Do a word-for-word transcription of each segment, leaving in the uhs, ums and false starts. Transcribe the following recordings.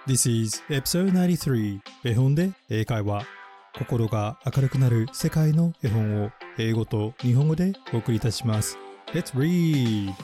This is episode ninety-three 絵本で英会話。心が明るくなる世界の絵本を英語と日本語でお送りいたします。Let's read!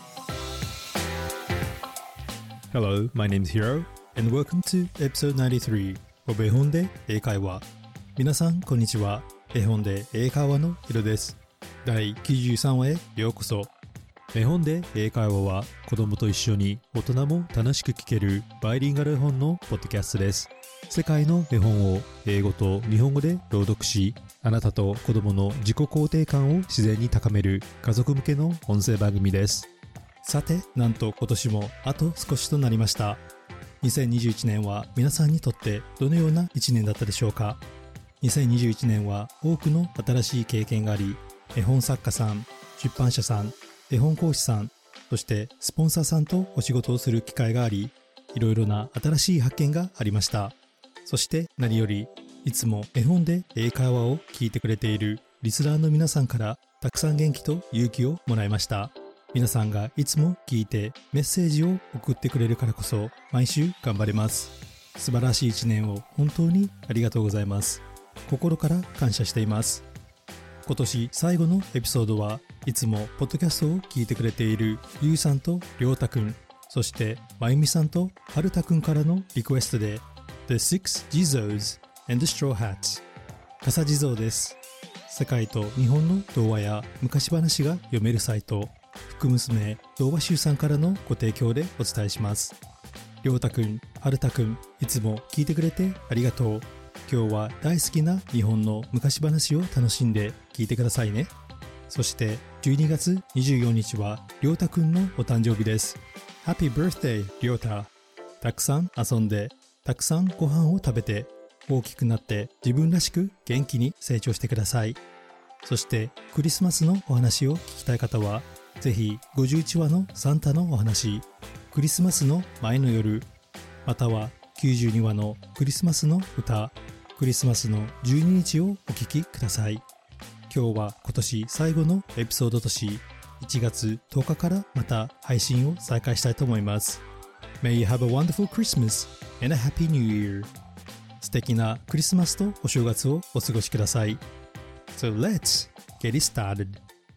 Hello, my name is Hiro and welcome to episode ninety-three of 絵本で英会話。皆さんこんにちは。絵本で英会話のヒロです。だいきゅうじゅうさんわへようこそ。絵本で英会話は子供と一緒に大人も楽しく聞けるバイリンガル絵本のポッドキャストです。世界の絵本を英語と日本語で朗読し、あなたと子供の自己肯定感を自然に高める家族向けの音声番組です。さて、なんと今年もあと少しとなりました。にせんにじゅういちねんは皆さんにとってどのようないちねんだったでしょうか。にせんにじゅういちねんは多くの新しい経験があり、絵本作家さん、出版社さん、絵本講師さん、そしてスポンサーさんとお仕事をする機会があり、いろいろな新しい発見がありました。そして何より、いつも絵本で英会話を聞いてくれているリスナーの皆さんからたくさん元気と勇気をもらいました。皆さんがいつも聞いてメッセージを送ってくれるからこそ毎週頑張れます。素晴らしい一年を本当にありがとうございます。心から感謝しています。今年最後のエピソードはいつもポッドキャストを聞いてくれているゆうさんとりょうたくん、そしてまゆみさんとはるたくんからのリクエストで The Six Jizos and the Straw Hats 笠地蔵です。世界と日本の童話や昔話が読めるサイト福娘童話集さんからのご提供でお伝えします。りょうたくん、はるたくん、いつも聞いてくれてありがとう。今日は大好きな日本の昔話を楽しんで聞いてくださいね。そしてじゅうにがつにじゅうよっかはりょうたくんのお誕生日です。Happy birthday りょうた。たくさん遊んで、たくさんご飯を食べて、大きくなって自分らしく元気に成長してください。そしてクリスマスのお話を聞きたい方は、ぜひごじゅういちわのサンタのお話、クリスマスの前の夜、またはきゅうじゅうにわのクリスマスの歌、クリスマスのじゅうににちをお聞きください。今日は今年最後のエピソードとし、いちがつとおかからまた配信を再開したいと思います。May you have a wonderful Christmas and a happy New Year. 素敵なクリスマスとお正月をお過ごしください。So let's get it started.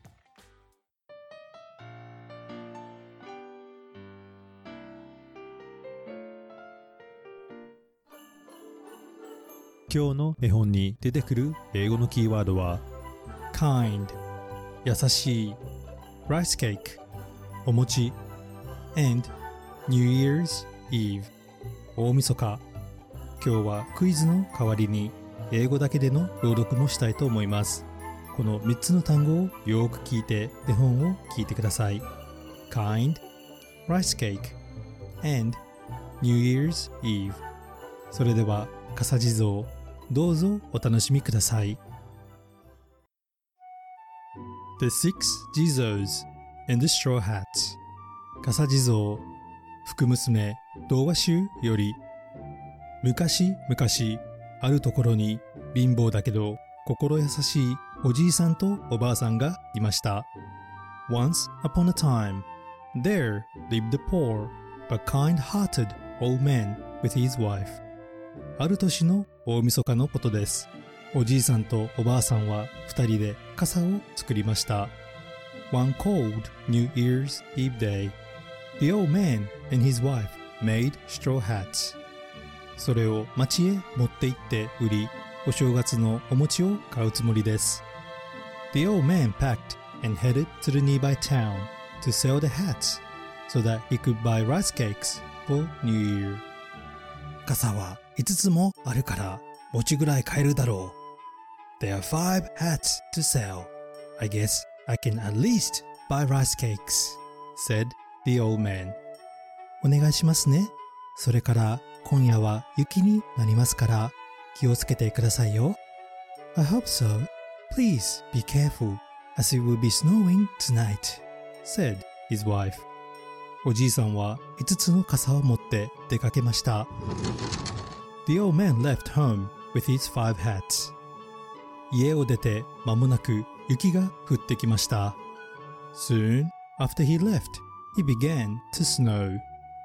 今日の絵本に出てくる英語のキーワードは kind 優しい rice cake お餅 and New Year's Eve 大晦日。今日はクイズの代わりに英語だけでの朗読もしたいと思います。このみっつの単語をよく聞いて絵本を聞いてください。 kind rice cake and New Year's Eve。 それでは笠地蔵、どうぞお楽しみください。 The Six Jizos and the Straw Hats 笠地蔵福娘童話集より。昔々あるところに貧乏だけど心優しいおじいさんとおばあさんがいました。 Once upon a time there lived a poor but kind-hearted old man with his wife。ある年の大晦日のことです。おじいさんとおばあさんは二人で傘を作りました。One cold New Year's Eve day, the old man and his wife made straw hats. それを町へ持って行って売り、お正月のお餅を買うつもりです。The old man packed and headed to the nearby town to sell the hats so that he could buy rice cakes for New Year。傘はいつつもあるから餅ぐらい買えるだろう。There are five hats to sell. I guess I can at least buy rice cakes, said the old man. お願いしますね。それから今夜は雪になりますから気をつけてくださいよ。I hope so. Please be careful as it will be snowing tonight, said his wife. おじいさんはいつつの傘を持って出かけました。The old man left home with his five hats. 家を出て間もなく雪が降ってきました。Soon after he left, it began to snow.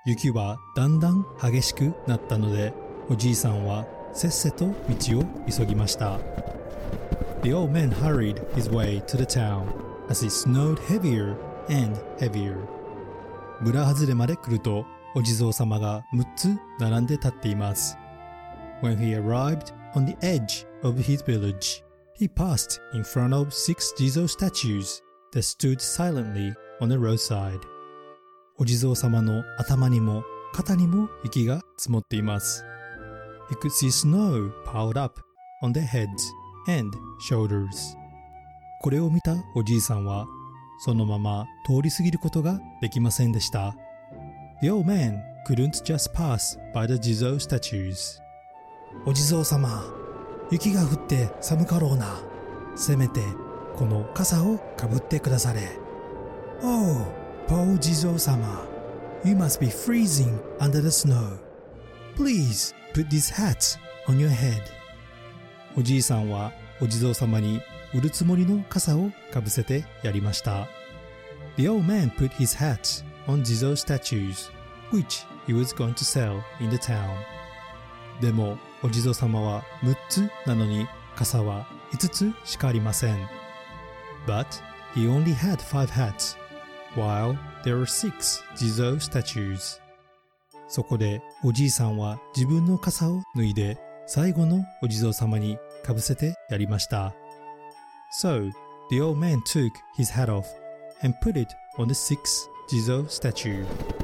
雪はだんだん激しくなったので、おじいさんはせっせと道を急ぎました。The old man hurried his way to the town as it snowed heavier and heavier. 村外れまで来ると、お地蔵様がむっつ並んで立っています。When he arrived on the edge of his village, he passed in front of six Jizo statues that stood silently on the roadside. お地蔵様の頭にも肩にも雪が積もっています。He could see snow piled up on their heads and shoulders. これを見たおじいさんは、そのまま通り過ぎることができませんでした。The old man couldn't just pass by the Jizo statues. お地蔵様、雪が降って寒かろうな。せめてこの傘をかぶってくだされ。Oh, poor 地蔵様、You must be freezing under the snow. Please put this hat on your head. おじいさんはお地蔵様に売るつもりの傘をかぶせてやりました。The old man put his hat on Jizo statues, which he was going to sell in the town. でもお地蔵様はむっつなのに傘はいつつしかありません。But he only had five hats, while there were six Jizo statues. そこでおじいさんは自分の傘を脱いで最後のお地蔵様にかぶせてやりました。So, the old man took his hat off and put it on the sixth Jizo statue.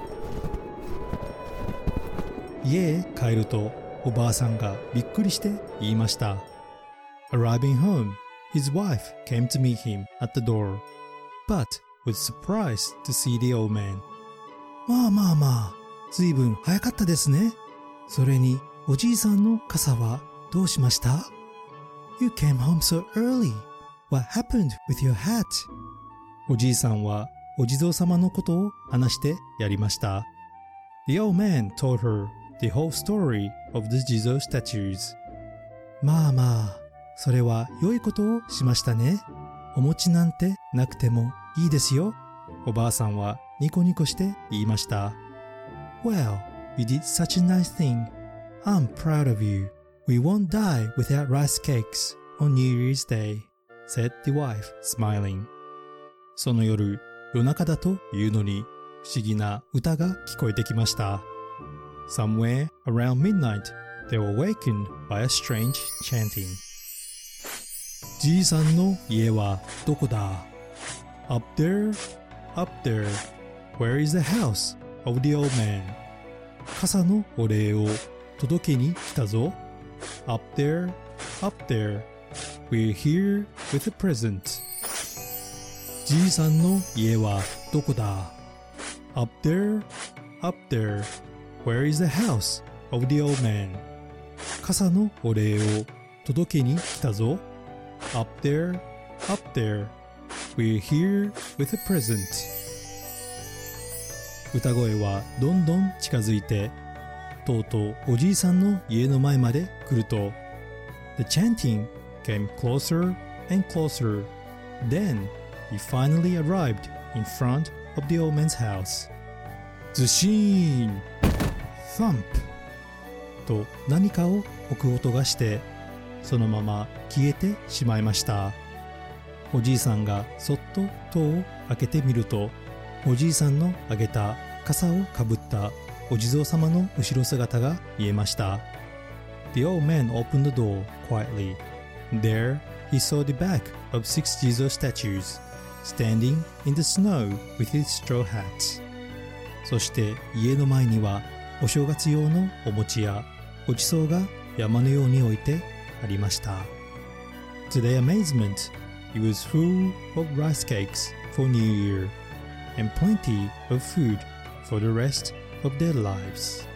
家へ帰るとおばあさんがびっくりして言いました。Arriving home, his wife came to meet him at the door, but was surprised to see the old man. まあまあまあ、ずいぶん早かったですね。それにおじいさんの傘はどうしました？ You came home so early.What happened with your hat? おじいさんはお地蔵様のことを話してやりました。The old man told her the whole story of the Jizo statues. まあまあ、それは良いことをしましたね。お餅なんてなくてもいいですよ。おばあさんはニコニコして言いました。Well, you did such a nice thing. I'm proud of you. We won't die without rice cakes on New Year's Day.said the wife, smiling. その夜、夜中だというのに不思議な歌が聞こえてきました。Somewhere around midnight, they were awakened by a strange chanting. じいさんの家はどこだ？ Up there, up there. Where is the house of the old man? 傘のお礼を届けに来たぞ。Up there, up there.We're here with a present. じいさんの家はどこだ？ Up there, up there. Where is the house of the old man? 傘のお礼を届けに来たぞ。Up there, up there. We're here with a present. 歌声はどんどん近づいて、とうとうおじいさんの家の前まで来ると、The chanting came closer and closer. Then he finally arrived in front of the old man's house. ズシーン Thump と何かを置く音がしてそのまま消えてしまいました。おじいさんがそっと戸を開けてみるとおじいさんのあげた傘をかぶったお地蔵様の後ろ姿が見えました。 The old man opened the door quietly.There, he saw the back of six Jizo statues, standing in the snow with his straw hats. そして家の前にはお正月用のお餅やごちそうが山のように置いてありました。To their amazement, it was full of rice cakes for New Year, and plenty of food for the rest of their lives.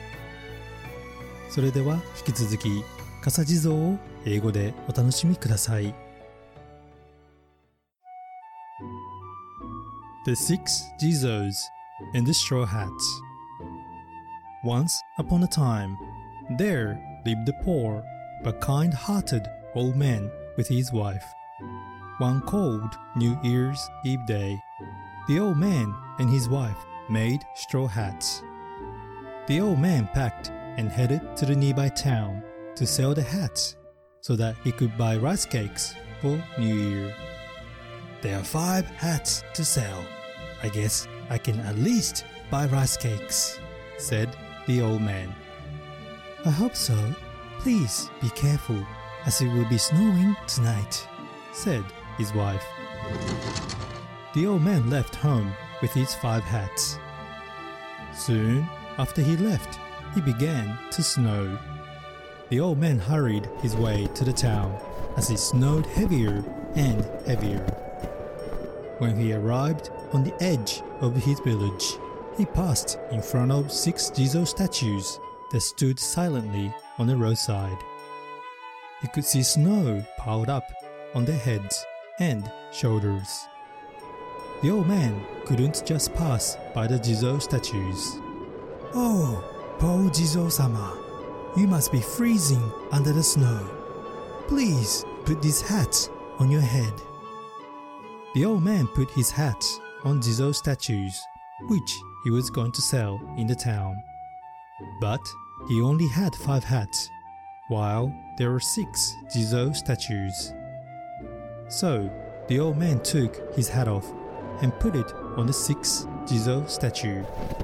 それでは引き続き傘地蔵を英語でお楽しみください。The Six Jizos and the Straw Hats. Once upon a time, there lived a poor but kind-hearted old man with his wife. One cold New Year's Eve day, the old man and his wife made straw hats. The old man packed and headed to the nearby town to sell the hats so that he could buy rice cakes for New Year. There are five hats to sell. I guess I can at least buy rice cakes, said the old man. I hope so. Please be careful, as it will be snowing tonight, said his wife. The old man left home with his five hats. Soon after he left, it began to snow. The old man hurried his way to the town as it snowed heavier and heavier. When he arrived on the edge of his village, he passed in front of six Jizo statues that stood silently on the roadside. He could see snow piled up on their heads and shoulders. The old man couldn't just pass by the Jizo statues. Oh, poor Jizo-sama, you must be freezing under the snow. Please put this hat on your head. The old man put his hat on Jizo statues, which he was going to sell in the town. But he only had five hats, while there were six Jizo statues. So the old man took his hat off and put it on the sixth Jizo statue.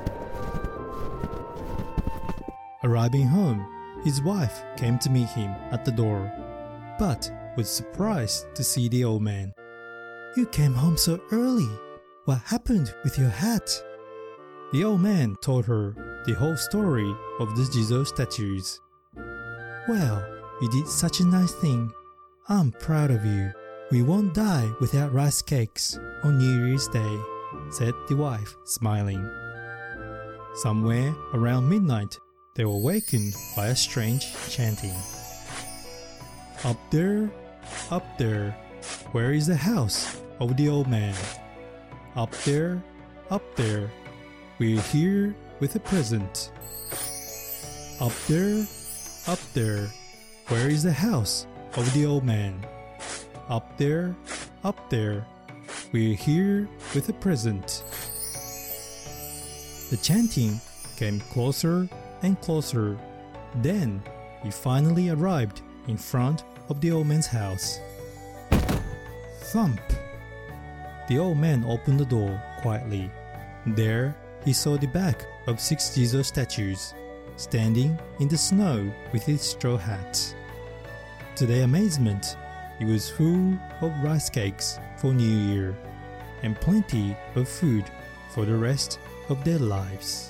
Arriving home, his wife came to meet him at the door, but was surprised to see the old man. You came home so early. What happened with your hat? The old man told her the whole story of the Jizo statues. Well, you did such a nice thing. I'm proud of you. We won't die without rice cakes on New Year's Day, said the wife, smiling. Somewhere around midnight, they were awakened by a strange chanting. Up there, up there, where is the house of the old man? Up there, up there, we're here with a present. Up there, up there, where is the house of the old man? Up there, up there, we're here with a present. The chanting came closer and closer. Then he finally arrived in front of the old man's house. Thump! The old man opened the door quietly. There he saw the back of six Jizo statues, standing in the snow with his straw hats. To their amazement, it was full of rice cakes for New Year, and plenty of food for the rest of their lives.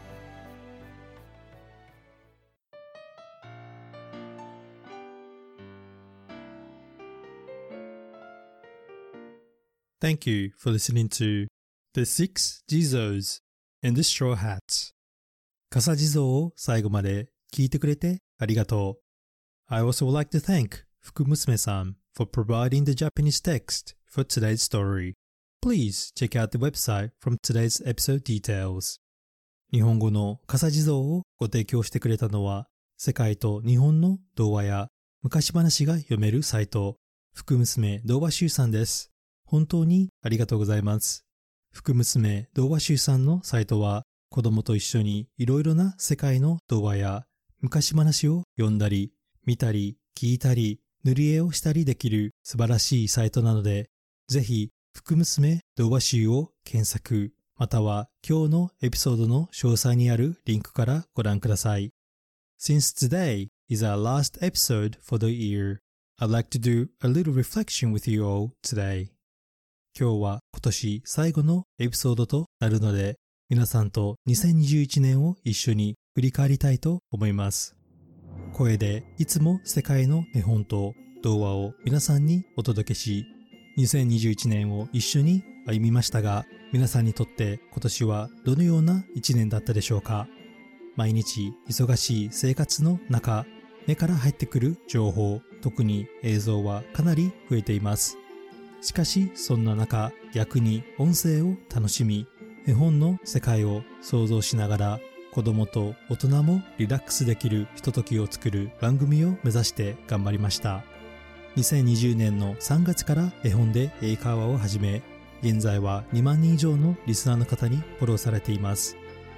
Thank you for listening to The Six Jizos and the Straw Hats. 傘地蔵を最後まで聞いてくれてありがとう。I also would like to thank 福娘さん for providing the Japanese text for today's story. Please check out the website from today's episode details. 日本語の傘地蔵をご提供してくれたのは、世界と日本の童話や昔話が読めるサイト、福娘童話集さんです。本当にありがとうございます。福娘童話集さんのサイトは、子供と一緒にいろいろな世界の童話や昔話を読んだり、見たり、聞いたり、塗り絵をしたりできる素晴らしいサイトなので、ぜひ、福娘童話集を検索、または今日のエピソードの詳細にあるリンクからご覧ください。Since today is our last episode for the year, I'd like to do a little reflection with you all today. 今日は今年最後のエピソードとなるので、皆さんとにせんにじゅういちねんを一緒に振り返りたいと思います。声でいつも世界の絵本と童話を皆さんにお届けし、にせんにじゅういちねんを一緒に歩みましたが、皆さんにとって今年はどのようないちねんだったでしょうか。毎日忙しい生活の中、目から入ってくる情報、特に映像はかなり増えています。しかしそんな中、逆に音声を楽しみ、絵本の世界を想像しながら子供と大人もリラックスできるひとときを作る番組を目指して頑張りました。にせんにじゅうねんのさんがつから絵本で英会話を始め、現在はにまんにん以上のリスナーの方にフォローされています。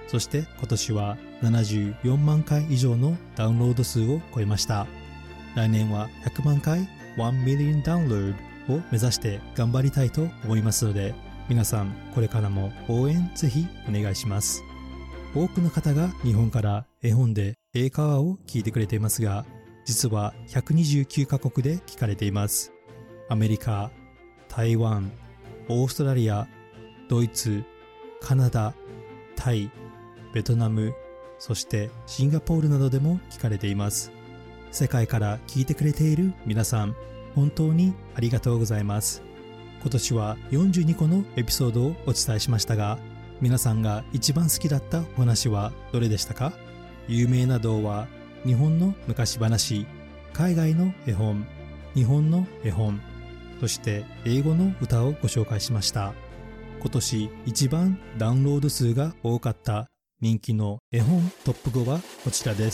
そして今年はななじゅうよんまんかい以上のダウンロード数を超えました。来年はひゃくまんかい、いち million ダウンロードを目指して頑張りたいと思いますので、皆さんこれからも応援ぜひお願いします。多くの方が日本から絵本で英会話を聞いてくれていますが、実はひゃくにじゅうきゅうカ国で聞かれています。アメリカ、台湾、オーストラリア、ドイツ、カナダ、タイ、ベトナム、そしてシンガポールなどでも聞かれています。世界から聞いてくれている皆さん、本当にありがとうございます。今年はよんじゅうにこのエピソードをお伝えしましたが、皆さんが一番好きだったお話はどれでしたか？有名な童話、日本の昔話、海外の絵本、日本の絵本、そして英語の歌をご紹介しました。今年一番ダウンロード数が多かった人気の絵本トップごはこちらです。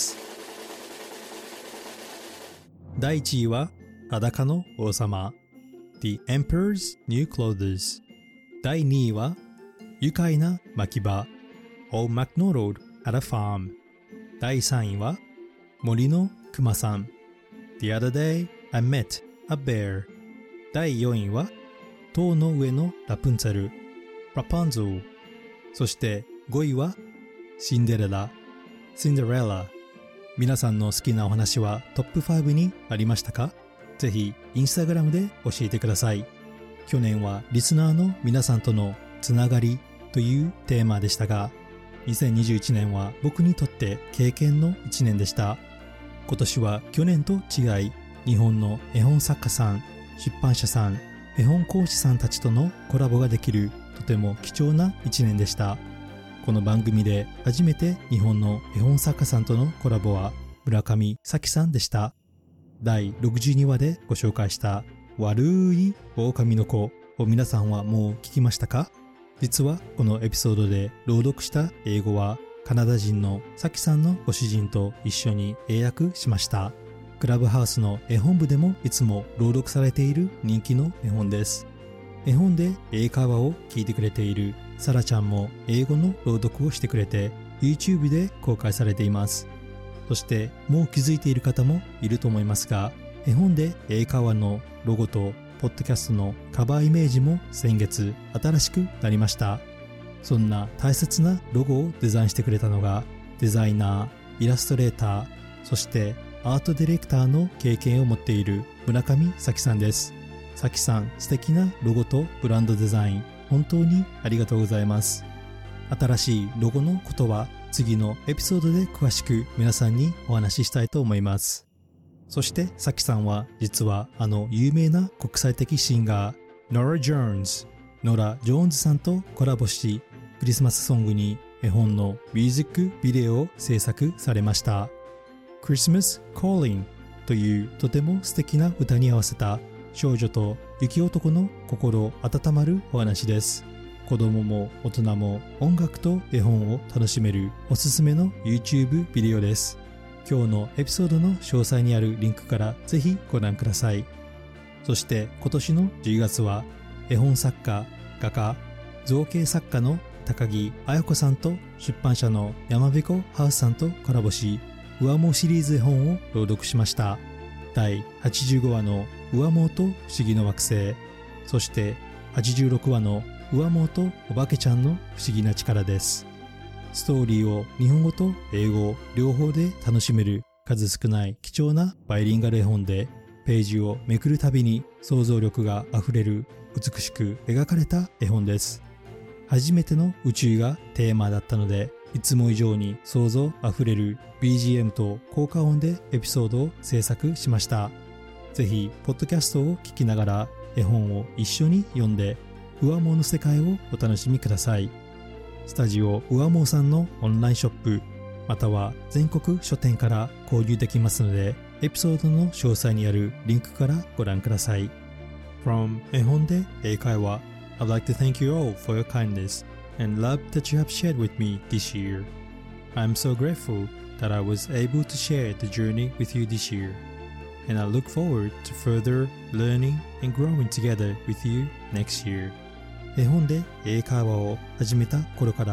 だいいちいは裸の王様 The Emperor's New Clothes。 だいにいは愉快な牧場 Old MacDonald at a Farm。 だいさんいは森のくまさん The other day I met a bear。 だいよんいは塔の上のラプンツェル Rapunzel。 そしてごいはシンデレラ Cinderella。 皆さんの好きなお話はトップごにありましたか？ぜひインスタグラムで教えてください。去年はリスナーの皆さんとのつながりというテーマでしたが、にせんにじゅういちねんは僕にとって経験のいちねんでした。今年は去年と違い、日本の絵本作家さん、出版社さん、絵本講師さんたちとのコラボができるとても貴重ないちねんでした。この番組で初めて日本の絵本作家さんとのコラボは村上咲さんでした。だいろくじゅうにわでご紹介した悪い狼の子を皆さんはもう聞きましたか？実はこのエピソードで朗読した英語はカナダ人の咲さんのご主人と一緒に英訳しました。クラブハウスの絵本部でもいつも朗読されている人気の絵本です。絵本で英会話を聞いてくれているサラちゃんも英語の朗読をしてくれて YouTube で公開されています。そしてもう気づいている方もいると思いますが、絵本で英会話のロゴとポッドキャストのカバーイメージも先月新しくなりました。そんな大切なロゴをデザインしてくれたのがデザイナー、イラストレーター、そしてアートディレクターの経験を持っている村上咲さんです。咲さん、素敵なロゴとブランドデザイン、本当にありがとうございます。新しいロゴのことは次のエピソードで詳しく皆さんにお話ししたいと思います。そして咲さんは実はあの有名な国際的シンガーノラ・ジョーンズ、ノラ・ジョーンズさんとコラボし、クリスマスソングに絵本のミュージックビデオを制作されました。Christmas Calling というとても素敵な歌に合わせた少女と雪男の心温まるお話です。子供も大人も音楽と絵本を楽しめるおすすめの YouTube ビデオです。今日のエピソードの詳細にあるリンクからぜひご覧ください。そして今年のじゅうがつは絵本作家、画家、造形作家の高木彩子さんと出版社の山彦ハウスさんとコラボし、上毛シリーズ絵本を朗読しました。だいはちじゅうごわの上毛と不思議の惑星、そしてはちじゅうろくわの上毛とおばけちゃんの不思議な力です。ストーリーを日本語と英語両方で楽しめる数少ない貴重なバイリンガル絵本で、ページをめくるたびに想像力があふれる美しく描かれた絵本です。初めての宇宙がテーマだったので、いつも以上に想像あふれる ビージーエム と効果音でエピソードを制作しました。ぜひポッドキャストを聞きながら絵本を一緒に読んで上毛の世界をお楽しみください。スタジオ上毛さんのオンラインショップまたは全国書店から購入できますので、エピソードの詳細にあるリンクからご覧ください。From 絵本で英会話 I'd like to thank you all for your kindness and love that you have shared with me this year. I'm so grateful that I was able to share the journey with you this year, and I look forward to further learning and growing together with you next year. 絵本で英会話を始めた頃から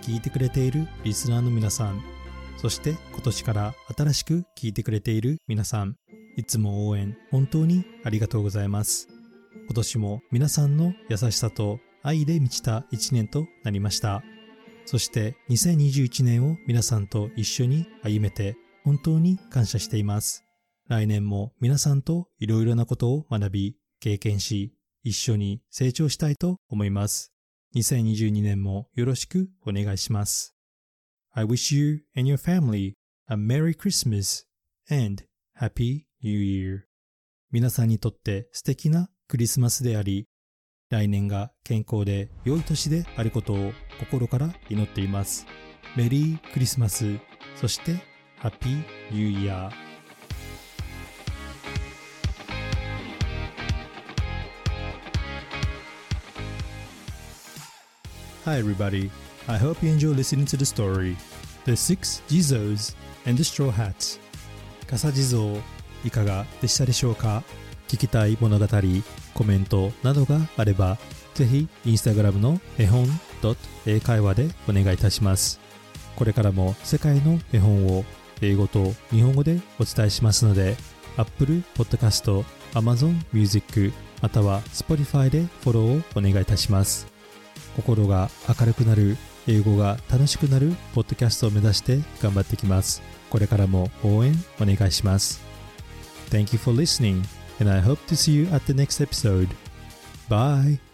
聞いてくれているリスナーの皆さん、そして今年から新しく聞いてくれている皆さん、いつも応援本当にありがとうございます。今年も皆さんの優しさと愛で満ちたいちねんとなりました。そしてにせんにじゅういちねんを皆さんと一緒に歩めて本当に感謝しています。来年も皆さんといろいろなことを学び、経験し、一緒に成長したいと思います。にせんにじゅうにねんもよろしくお願いします。I wish you and your family a Merry Christmas and Happy New Year. 皆さんにとって素敵なクリスマスであり、来年が健康で良い年であることを心から祈っています。メリークリスマス、そしてハッピーニューイヤー。Hi everybody, I hope you enjoy listening to the story, The Six Jizos and the Straw Hats. 笠地蔵、いかがでしたでしょうか？聞きたい物語、コメントなどがあれば、ぜひインスタグラムの絵本英会話でお願いいたします。これからも世界の絵本を英語と日本語でお伝えしますので、Apple Podcast、Amazon Music または Spotify でフォローをお願いいたします。心が明るくなる、英語が楽しくなるポッドキャストを目指して頑張っていきます。これからも応援お願いします。Thank you for listening, and I hope to see you at the next episode. Bye!